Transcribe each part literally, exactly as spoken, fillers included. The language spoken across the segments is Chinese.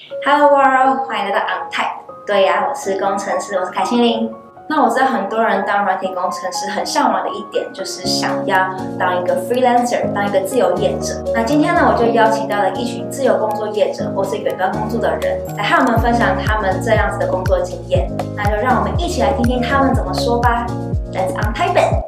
Hello World， 欢迎来到 OnType。对呀、啊，我是工程师，我是凯心玲。那我知道很多人当软体工程师很向往的一点，就是想要当一个 freelancer， 当一个自由业者。那今天呢，我就邀请到了一群自由工作业者或是远端工作的人，来和我们分享他们这样子的工作经验。那就让我们一起来听听他们怎么说吧。Let's OnType it。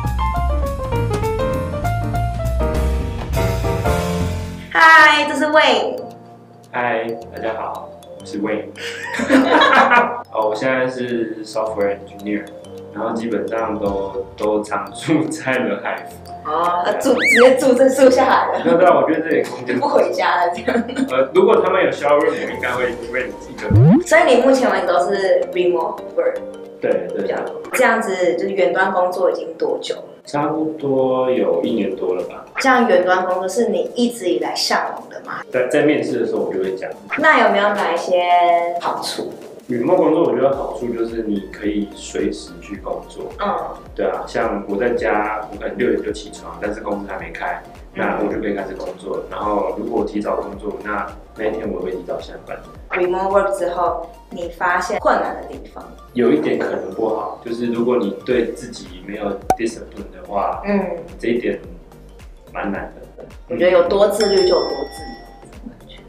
嗨，这是 Wayne。 嗨，大家好，我是 Wayne。哦，我现在是 software engineer， 然后基本上都都常住在了海福。 哦，住直接住这住下来了。 那对啊，我觉得这里空间不回家了这样。 呃，如果他们有 shower room， 我应该会为一个。 所以你目前为止都是 remote work。 对对。 这样子就是远端工作已经多久了？ 差不多有一年多了吧。 这样远端工作是你一直以来向往的吗？ 在在面试的时候我就会讲。 那有没有哪一些好处 ？remote工作我觉得好处就是你可以随时去工作。嗯，对啊，像我在家，我可能六点就起床，但是公司还没开，那我就可以开始工作。然后如果我提早工作，那那一天我会提早下班。 remote work 之后，你发现困难的地方？ 有一点可能不好，就是如果你对自己没有 discipline 的话，嗯，这一点蛮难的。 我觉得有多自律就有多自由。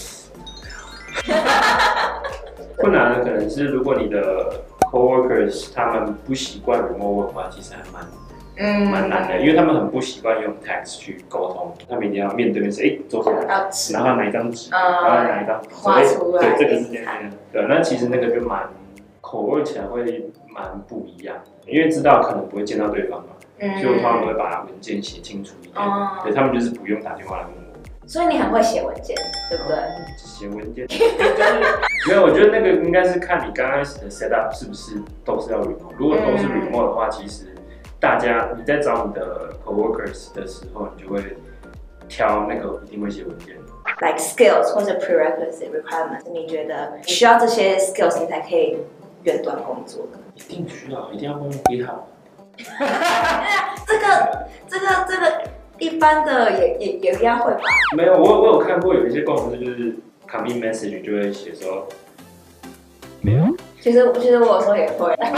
困难的可能是，如果你的 coworkers 他们不习惯 remote work 的话，其实还蛮嗯蛮难的，因为他们很不习惯用 text 去沟通，他们一定要面对面说，哎，坐下来，然后拿一张纸，然后拿一张画出来， 对，这个是这样这样，对，那其实那个就蛮口味起来会蛮不一样，因为知道可能不会见到对方嘛，所以我通常都会把文件写清楚一点，对，他们就是不用打电话来问我。 所以你很会写文件，对不对？ 写文件，没有，我觉得那个应该是看你刚开始的 setup 是不是都是要 remote。如果都是 remote 的话，其实大家你在找你的 coworkers 的时候，你就会挑那个一定会写文件。 Like skills 或者 prerequisite requirements， 你觉得你需要这些 skills 你才可以远端工作的？ 一定需要，一定要会用 GitHub。 这个，这个，这个。一般的也也也应该会吧？ 没有，我我有看过有一些工程师就是 commit message 就会写说没有。 其实其实我有时候也会，因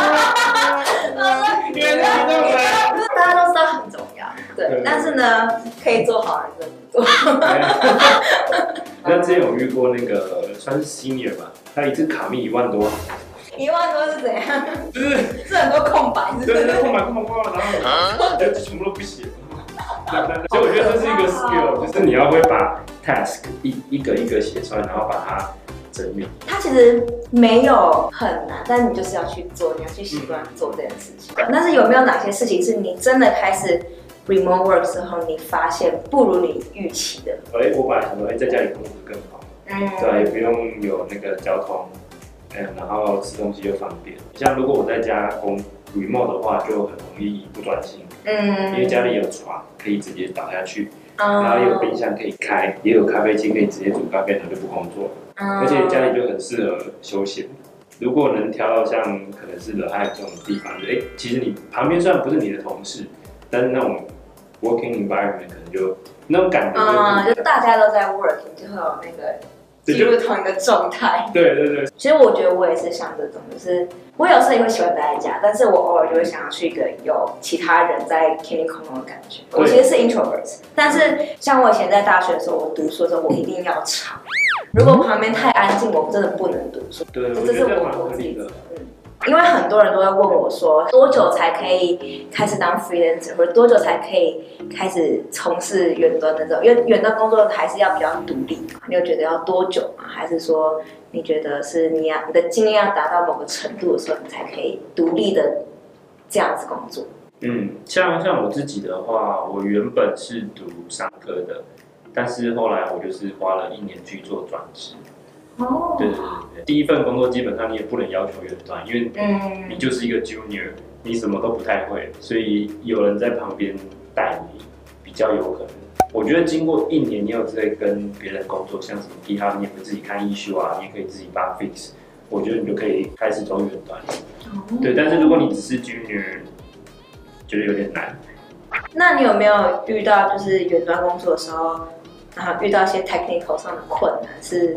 为大家都知道很重要，对。但是呢，可以做好还是不做。 那之前有遇过那个算是 senior 吧，他一次卡密一万多。 一万多是怎样？就是是很多空白，是不是？ 对，空白空白空白，然后就全部都不写。所以我觉得这是一个 skill， 就是你要会把 task 一一个一个写出来，然后把它整理。 它其实没有很难，但是你就是要去做，你要去习惯做这件事情。嗯、但是有没有哪些事情是你真的开始 remote work 之后，你发现不如你预期的？ 哎，我本来想说，哎，在家里工作更好，嗯，对，也不用有那个交通，嗯，然后吃东西又方便。像如果我在家工 remote 的话，就很容易不专心。嗯，因为家里有床可以直接倒下去，嗯、然后也有冰箱可以开，也有咖啡机可以直接煮咖啡，然后就不工作。嗯、而且家里就很适合休闲。如果能挑到像可能是惹害这种地方，哎，其实你旁边虽然不是你的同事，但是那种 working environment 可能就那种感觉， 嗯，就大家都在 working， 就会有那个进入同一个状态。 对对对。 其实我觉得我也是像这种，就是我有时候也会喜欢待在家，但是我偶尔就会想要去一个有其他人在 can you come 的感觉。我其实是 introvert， 但是像我以前在大学的时候，我读书的时候我一定要吵，如果旁边太安静，我真的不能读书。 对， 这是我我自己的。嗯，因为很多人都会问我说，多久才可以开始当 freelancer， 或者多久才可以开始从事远端的这种？因为远端工作还是要比较独立，你有觉得要多久吗？还是说你觉得是你要你的经验要达到某个程度的时候，你才可以独立的这样子工作？ 嗯，像像我自己的话，我原本是读商科的，但是后来我就是花了一年去做转职。哦，对对对对，第一份工作基本上你也不能要求远端，因为你就是一个 junior， 你什么都不太会，所以有人在旁边带你比较有可能。我觉得经过一年，你有在跟别人工作，像什么 GitHub， 你也会自己看 issue 啊，你也可以自己帮 fix， 我觉得你就可以开始走远端。哦，对，但是如果你只是 junior， 觉得有点难。 那你有没有遇到就是远端工作的时候，然后遇到一些 technical 上的困难，是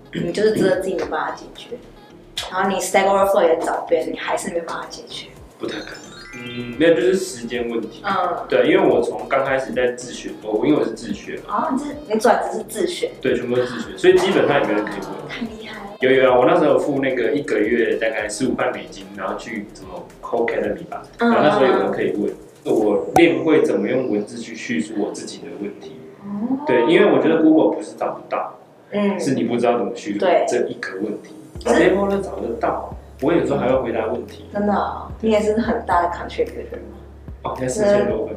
你就是真的自己没办法解决，然后你 Stack Overflow 也找别人，你还是没办法解决。 不太可能。嗯，没有，就是时间问题。 嗯， 对，因为我从刚开始在自学，我因为我是自学嘛。 哦，你是你转职是自学？ 对，全部都是自学，所以基本上也没人可以问。 太厉害了。 有有啊，我那时候有付那个一个月大概十五块美金，然后去什么 Codecademy 吧，然后那时候有人可以问。我练会怎么用文字去叙述我自己的问题。哦。对，因为我觉得 Google 不是找不到，嗯，是你不知道怎么叙述这一个问题。Stable 呢找得到，我有时候还会回答问题。 真的、哦，你也是很大的 contributor 吗？ 哦，现在四千多分。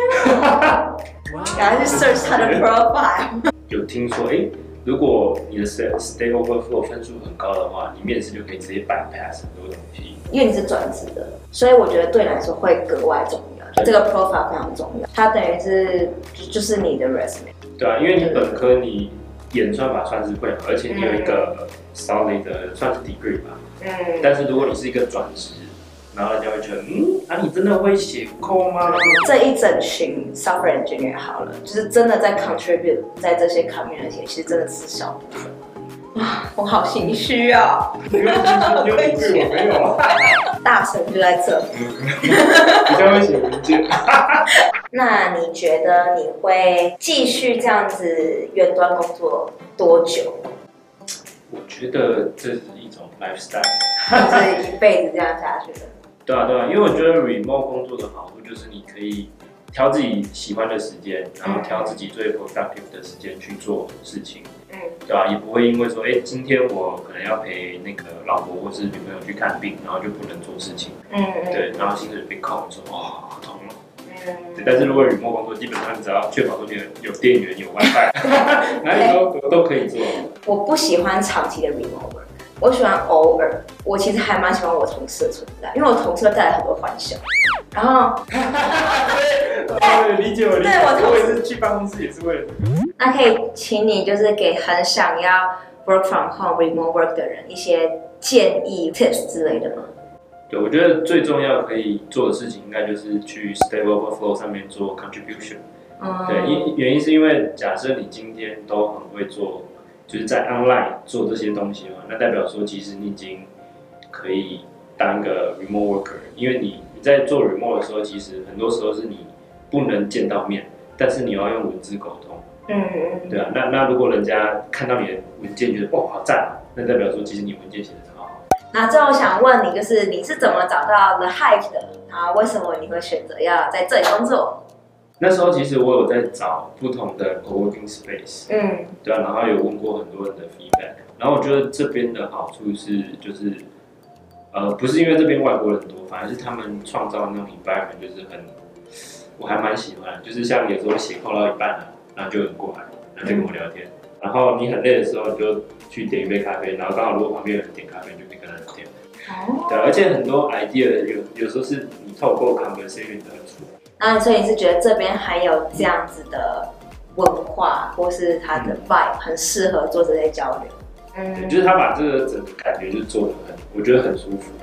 赶快去 search 他的 profile。 有听说，哎、欸，如果你的 Stack Overflow 分数很高的话，你面试就可以直接 bypass 很多东西。 因为你是转职的，所以我觉得对你来说会格外重要。就这个 profile 非常重要，它等于是就是你的 resume。 对啊，因为你本科你演算法算是会，而且你有一个 solid 的算是 degree 吧。嗯。但是如果你是一个转职，然后人家会觉得，嗯，啊，你真的会写 code 吗？ 这一整群 software engineer 好了，就是真的在 contribute 在这些 community， 其实真的是小部分。啊，我好心虚啊！ 你有你有对我没有啊？ 大神就在这。 比较会写文件。 那你觉得你会继续这样子远端工作多久？ 我觉得这是一种 lifestyle， 就是一辈子这样下去的。 对啊，对啊，因为我觉得 remote 工作的好处就是你可以挑自己喜欢的时间，然后挑自己最 productive 的时间去做事情，嗯，对吧、啊？也不会因为说，哎、欸，今天我可能要陪那个老婆或是女朋友去看病，然后就不能做事情，嗯嗯，对，然后薪水被扣，说哇，好痛哦。对，但是如果 remote 工作，基本上你只要确保说你有电源、有 WiFi， 哪里都都可以做。 我不喜欢长期的 remote work。我喜欢偶尔，我其实还蛮喜欢我同事的存在，因为我同事会带来很多欢笑。然后， 对，理解我理解。对，我同事是去办公室也是为了这个。 那可以请你就是给很想要 work from home remote work 的人一些建议 tips 之类的吗？ 对，我觉得最重要可以做的事情，应该就是去 Stack Overflow 上面做 contribution。嗯，对，因原因是因为假设你今天都很会做。就是在 online 做这些东西嘛，那代表说其实你已经可以当一个 remote worker， 因为你你在做 remote 的时候，其实很多时候是你不能见到面，但是你要用文字沟通。嗯嗯。对啊，那那如果人家看到你的文件觉得哇好赞，那代表说其实你文件写的超好。 那最后想问你，就是你是怎么找到 The Hive 的？啊，为什么你会选择要在这里工作？ 那时候其实我有在找不同的 co-working space， 嗯，对啊，然后有问过很多人的 feedback， 然后我觉得这边的好处是，就是，呃，不是因为这边外国人多，反而是他们创造的那种 environment 就是很，我还蛮喜欢，就是像有时候写扣到一半了，然后就有人过来，然后就跟我聊天，然后你很累的时候，你就去点一杯咖啡，然后刚好如果旁边有人点咖啡，你就可以跟他聊天。哦，对，而且很多 idea 有有时候是你透过 conversation 得出来。 那所以你是觉得这边还有这样子的文化，或是它的 vibe 很适合做这些交流？ 嗯，就是他把这个整个感觉就做得很，我觉得很舒服。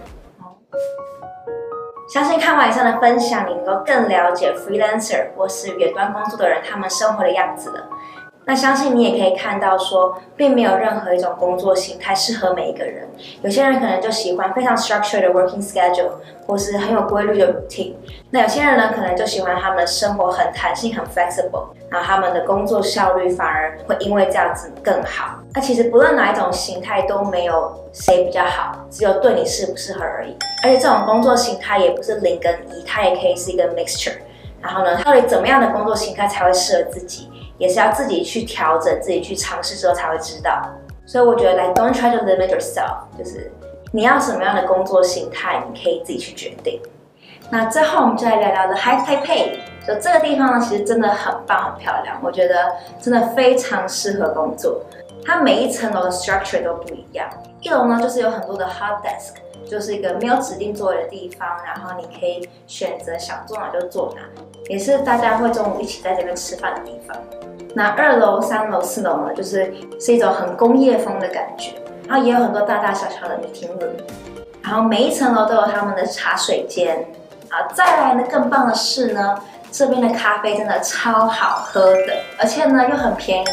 相信看完以上的分享，你能够更了解 freelancer 或是远端工作的人他们生活的样子了。那相信你也可以看到说，并没有任何一种工作形态适合每一个人。有些人可能就喜欢非常 structured 的 working schedule， 或是很有规律的 routine。那有些人呢，可能就喜欢他们的生活很弹性、很 flexible， 然后他们的工作效率反而会因为这样子更好。那其实不论哪一种形态都没有谁比较好，只有对你适不适合而已。而且这种工作形态也不是零跟一，它也可以是一个 mixture。然后呢，到底怎么样的工作形态才会适合自己？也是要自己去调整，自己去尝试之后才会知道。所以我觉得 like don't try to limit yourself， 就是你要什么样的工作形态，你可以自己去决定。那最后我们就来聊聊 The Hive Taipei。就这个地方呢，其实真的很棒、很漂亮，我觉得真的非常适合工作。它每一层楼的 structure 都不一样。一楼呢，就是有很多的 hot desk， 就是一个没有指定座位的地方，然后你可以选择想坐哪就坐哪，也是大家会中午一起在这边吃饭的地方。那二楼、三楼、四楼呢，就是是一种很工业风的感觉，然后也有很多大大小小的 meeting room， 然后每一层楼都有他们的茶水间。啊，再来呢，更棒的是呢，这边的咖啡真的超好喝的，而且呢又很便宜，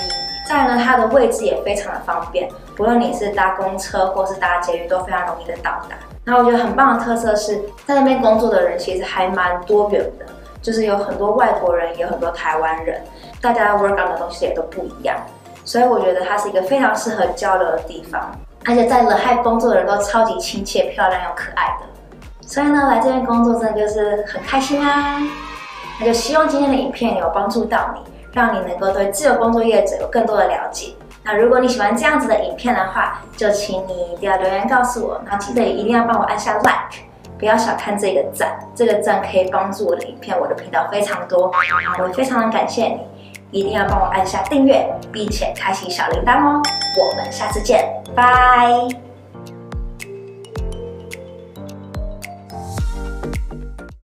再来呢，它的位置也非常的方便，不论你是搭公车或是搭捷运，都非常容易的到达。那我觉得很棒的特色是在那边工作的人其实还蛮多元的，就是有很多外国人，也有很多台湾人，大家 work on 的东西也都不一样，所以我觉得它是一个非常适合交流的地方。而且在乐嗨工作的人都超级亲切、漂亮又可爱的，所以呢，来这边工作真的就是很开心啊！那就希望今天的影片有帮助到你，让你能够对自由工作业者有更多的了解。那如果你喜欢这样子的影片的话，就请你一定要留言告诉我，然后记得也一定要帮我按下 like， 不要小看这个赞，这个赞可以帮助我的影片、我的频道非常多，我会非常的感谢你。一定要帮我按下订阅，并且开启小铃铛哦！我们下次见，拜。